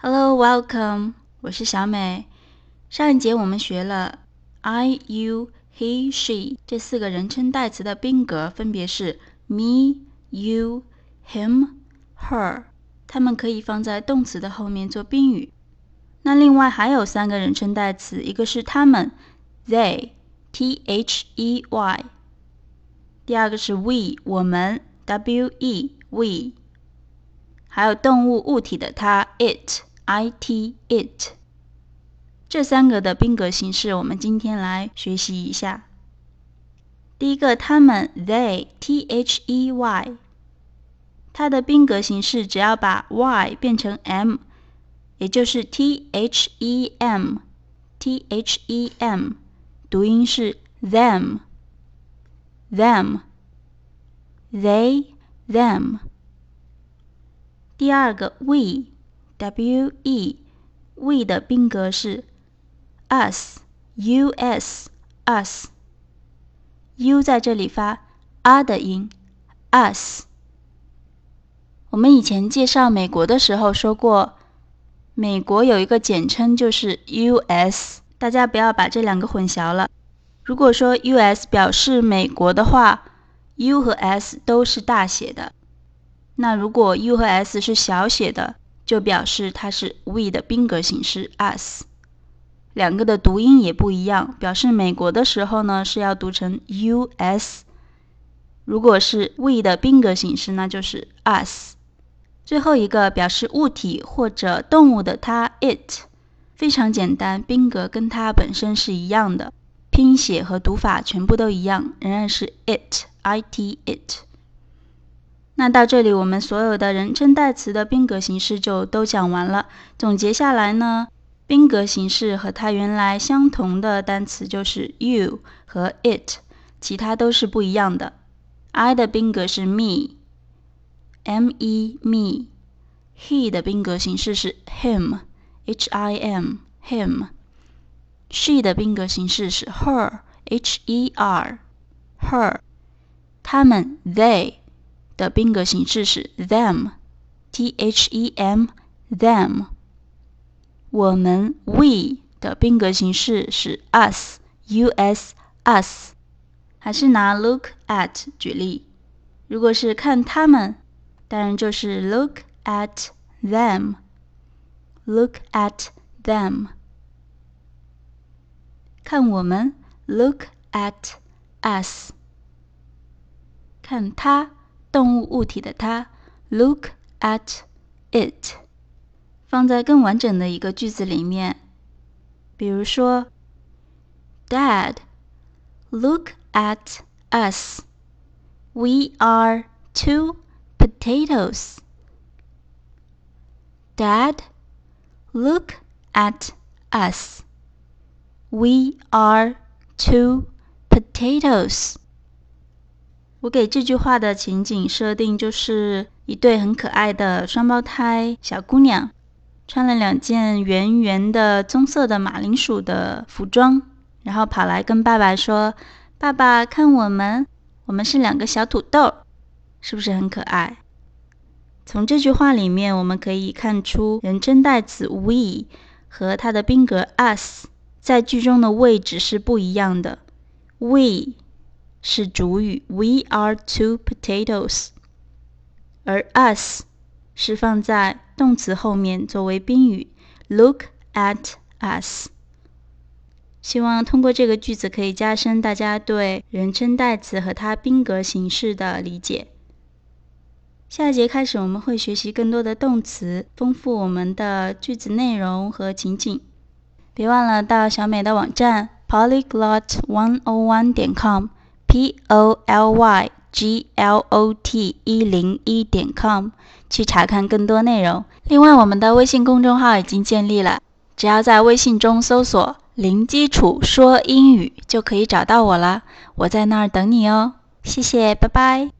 Hello, welcome. 我是小美。上一节我们学了 I, you, he, she 这四个人称代词的宾格分别是 me, you, him, her。它们可以放在动词的后面做宾语。那另外还有三个人称代词，一个是他们 they, T-H-E-Y。第二个是 we, 我们 W-E, we。还有动物物体的它 it, I-T, it。这三个的宾格形式我们今天来学习一下。第一个他们 they, T-H-E-Y， 它的宾格形式只要把 y 变成 m， 也就是 T-H-E-M， T-H-E-M， 读音是 them, them, they, them。第二个 we, W-E， we 的宾格是 us, U-S, us。 U 在这里发 a 的音 us。 我们以前介绍美国的时候说过，美国有一个简称就是 US， 大家不要把这两个混淆了。如果说 US 表示美国的话， U 和 S 都是大写的。那如果 U 和 S 是小写的，就表示它是 we 的宾格形式 us。 两个的读音也不一样，表示美国的时候呢是要读成 US， 如果是 we 的宾格形式那就是 us。 最后一个表示物体或者动物的它 it， 非常简单，宾格跟它本身是一样的，拼写和读法全部都一样，仍然是 it, I-T, it。那到这里我们所有的人称代词的宾格形式就都讲完了。总结下来呢，宾格形式和它原来相同的单词就是 you 和 it， 其他都是不一样的。 I 的宾格是 me, M-E, me。 He 的宾格形式是 him, H-I-M, him。 She 的宾格形式是 her, H-E-R, her。 他们 they的宾格形式是 them, T-H-E-M, them。 我们 we 的宾格形式是 us, U-S, us。 还是拿 look at 举例，如果是看他们，当然就是 look at them, look at them。 看我们 look at us。 看他动物物体的它 look at it。 放在更完整的一个句子里面，比如说 Dad, look at us, we are 2 potatoes. Dad, look at us, we are 2 potatoes。我给这句话的情景设定就是一对很可爱的双胞胎小姑娘，穿了2件圆圆的棕色的马铃薯的服装，然后跑来跟爸爸说，爸爸看我们是2个小土豆，是不是很可爱？从这句话里面我们可以看出人称代词 we 和它的宾格 us 在句中的位置是不一样的。 we是主语 we are 2 potatoes， 而 us 是放在动词后面作为宾语 look at us。 希望通过这个句子可以加深大家对人称代词和它宾格形式的理解。下一节开始我们会学习更多的动词，丰富我们的句子内容和情景。别忘了到小美的网站 polyglot101.com polyglot101.com 去查看更多内容。另外我们的微信公众号已经建立了，只要在微信中搜索零基础说英语就可以找到我了，我在那儿等你哦。谢谢，拜拜。